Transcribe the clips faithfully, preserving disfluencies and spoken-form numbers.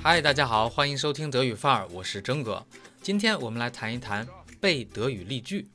嗨，大家好，欢迎收听德语范儿，我是征哥。今天我们来谈一谈背德语例句。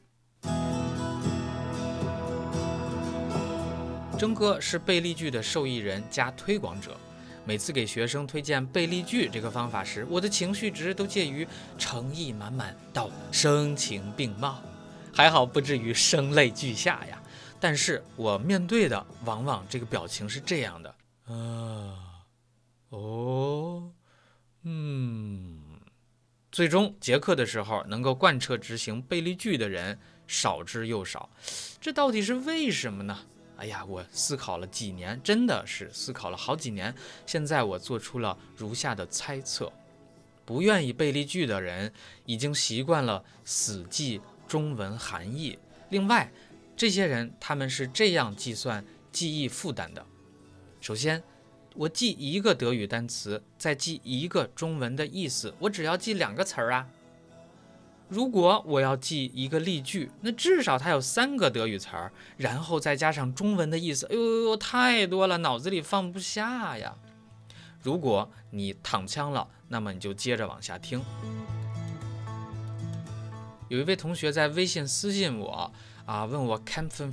征哥是背例句的受益人加推广者。每次给学生推荐背例句这个方法时，我的情绪值都介于诚意满满到声情并茂，还好不至于声泪俱下呀。但是我面对的往往这个表情是这样的，啊，哦，嗯。最终结课的时候，能够贯彻执行背例句的人少之又少，这到底是为什么呢？哎呀，我思考了几年，真的是思考了好几年。现在我做出了如下的猜测：不愿意背例句的人已经习惯了死记中文含义。另外，这些人他们是这样计算记忆负担的：首先，我记一个德语单词，再记一个中文的意思，我只要记两个词儿啊。如果我要记一个例句，那至少它有三个德语词儿，然后再加上中文的意思，哎呦呦，太多了，脑子里放不下呀。如果你躺枪了，那么你就接着往下听。有一位同学在微信私信我啊，问我 kämpfen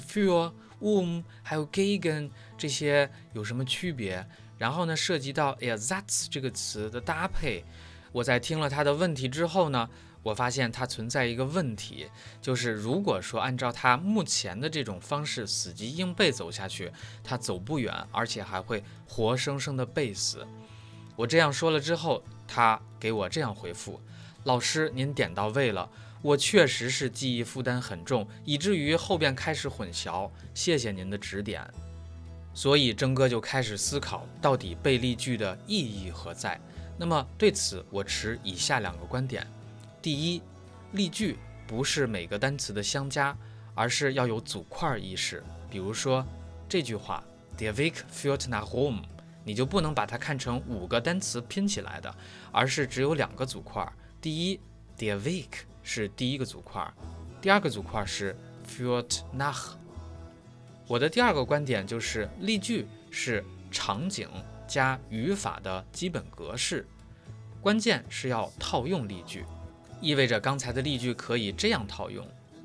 für、um 还有 gegen 这些有什么区别？然后呢，涉及到 Ersatz 这个词的搭配。我在听了他的问题之后呢，我发现它存在一个问题，就是如果说按照他目前的这种方式死记硬背走下去，他走不远，而且还会活生生的背死。我这样说了之后，他给我这样回复：老师，您点到位了，我确实是记忆负担很重，以至于后边开始混淆，谢谢您的指点。所以征哥就开始思考，到底背例句的意义何在？那么对此我持以下两个观点：第一，例句不是每个单词的相加，而是要有组块意识。比如说这句话 Der Weg führt nach Rom， 你就不能把它看成五个单词拼起来的，而是只有两个组块。第一 Der Weg 是第一个组块，第二个组块是 führt nach。我的第二个观点就是，例句是场景加语法的基本格式，关键是要套用例句，意味着刚才的例句可以这样套用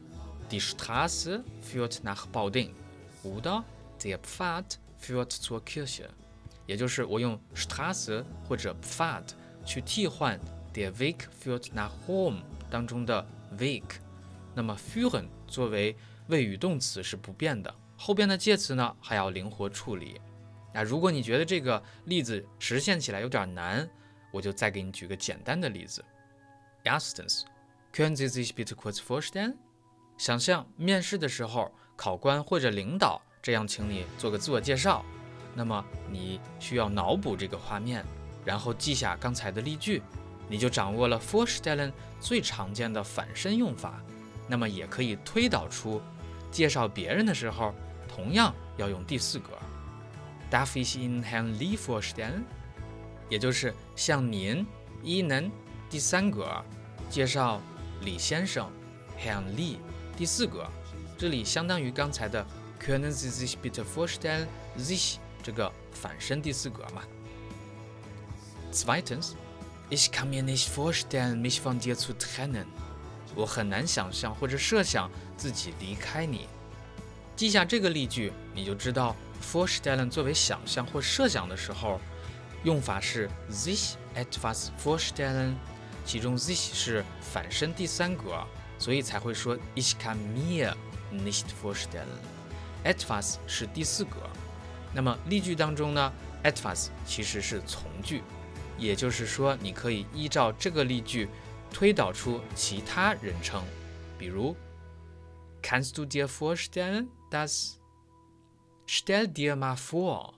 Die Straße führt nach Baudin oder der Pfad führt zur Kirche， 也就是我用 Straße 或者 Pfad 去替换 der Weg führt nach Rom 当中的 Weg， 那么 führen 作为谓语动词是不变的，后边的介词呢还要灵活处理。那如果你觉得这个例子实现起来有点难，我就再给你举个简单的例子。Erstens, können Sie sich bitte kurz vorstellen？ 想象面试的时候，考官或者领导这样请你做个自我介绍，那么你需要脑补这个画面，然后记下刚才的例句，你就掌握了 vorstellen 最常见的反身用法，那么也可以推导出介绍别人的时候同样要用第四格。Darf ich Ihnen Herrn Lee vorstellen？ 也就是向您 Ihnen 第三格介绍李先生 Herrn Lee 第四格，这里相当于刚才的 Können Sie sich bitte vorstellen sich 这个反身第四格嘛。Zweitens, ich kann mir nicht vorstellen, mich von dir zu trennen。 我很难想象或者设想自己离开你。记下这个例句，你就知道 vorstellen 作为想象或设想的时候，用法是 sich etwas vorstellen， 其中 sich 是反身第三格，所以才会说 ich kann mir nicht vorstellen。 etwas 是第四格，那么例句当中呢 etwas 其实是从句，也就是说你可以依照这个例句推导出其他人称，比如 Kannst du dir vorstellen, dass Stell dir mal vor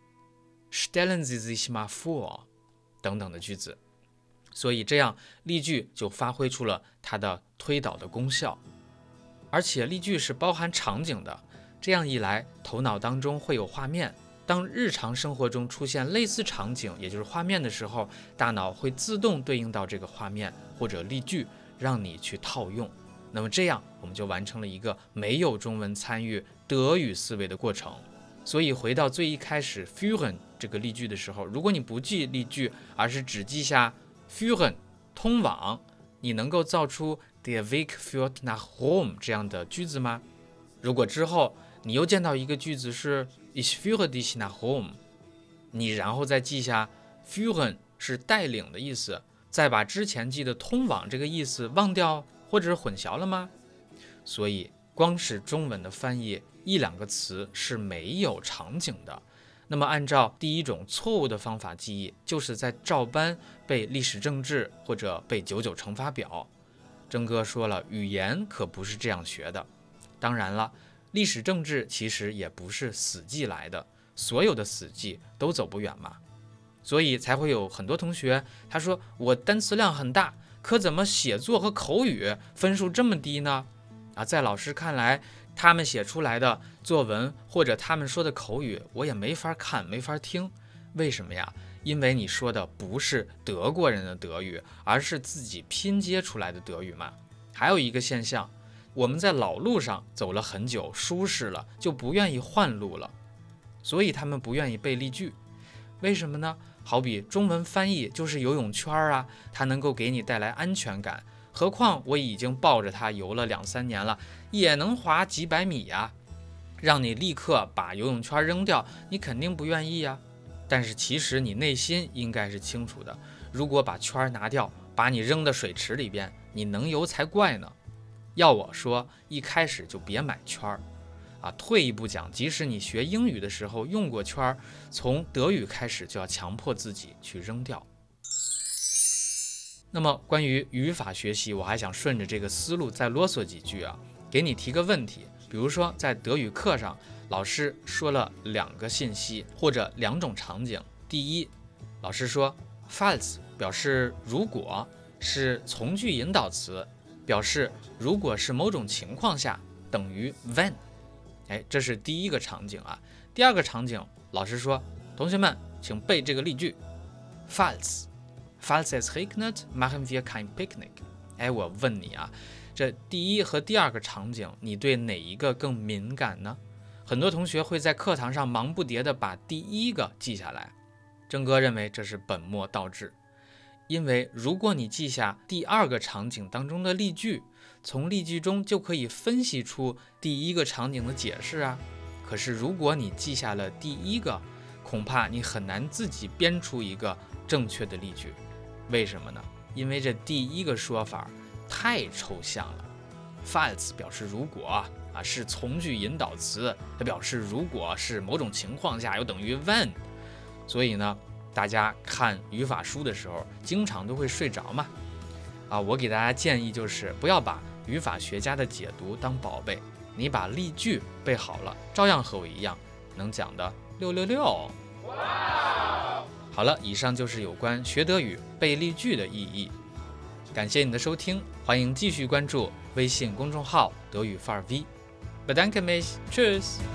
Stellen Sie sich mal vor 等等的句子。所以这样例句就发挥出了它的推导的功效，而且例句是包含场景的，这样一来头脑当中会有画面，当日常生活中出现类似场景也就是画面的时候，大脑会自动对应到这个画面或者例句，让你去套用。那么这样我们就完成了一个没有中文参与德语思维的过程。所以回到最一开始 führen 这个例句的时候，如果你不记例句，而是只记下 führen 通往，你能够造出 der Weg führt nach Rom 这样的句子吗？如果之后你又见到一个句子是 ich führe dich nach Rom， 你然后再记下 führen 是带领的意思，再把之前记的通往这个意思忘掉或者是混淆了吗？所以光是中文的翻译，一两个词是没有场景的。那么按照第一种错误的方法记忆，就是在照搬背历史政治或者背九九乘法表。征哥说了，语言可不是这样学的。当然了，历史政治其实也不是死记来的，所有的死记都走不远嘛。所以才会有很多同学他说我单词量很大，可怎么写作和口语分数这么低呢？啊，在老师看来，他们写出来的作文或者他们说的口语，我也没法看，没法听。为什么呀？因为你说的不是德国人的德语，而是自己拼接出来的德语嘛。还有一个现象，我们在老路上走了很久，舒适了，就不愿意换路了，所以他们不愿意背例句。为什么呢？好比中文翻译就是游泳圈啊，它能够给你带来安全感。何况我已经抱着它游了两三年了，也能划几百米呀、啊。让你立刻把游泳圈扔掉，你肯定不愿意呀、啊。但是其实你内心应该是清楚的，如果把圈拿掉，把你扔到水池里边，你能游才怪呢。要我说，一开始就别买圈啊。退一步讲，即使你学英语的时候用过圈，从德语开始就要强迫自己去扔掉。那么关于语法学习，我还想顺着这个思路再啰嗦几句啊，给你提个问题。比如说在德语课上，老师说了两个信息或者两种场景。第一，老师说 falls 表示如果，是从句引导词，表示如果是某种情况下等于 when。 哎，这是第一个场景啊。第二个场景，老师说同学们请背这个例句 falls Falls es regnet, machen wir kein Picknick。 哎，我问你啊，这第一和第二个场景，你对哪一个更敏感呢？很多同学会在课堂上忙不迭地把第一个记下来，征哥认为这是本末倒置。因为如果你记下第二个场景当中的例句，从例句中就可以分析出第一个场景的解释啊。可是如果你记下了第一个，恐怕你很难自己编出一个正确的例句。为什么呢？因为这第一个说法太抽象了。 falls 表示如果啊，是从句引导词，它表示如果是某种情况下又等于 when。 所以呢，大家看语法书的时候经常都会睡着嘛。啊，我给大家建议就是不要把语法学家的解读当宝贝，你把例句背好了，照样和我一样能讲的六六六。好了，以上就是有关学德语背例句的意义。感谢你的收听，欢迎继续关注微信公众号德语范儿 V。Bedanke mich, tschüss。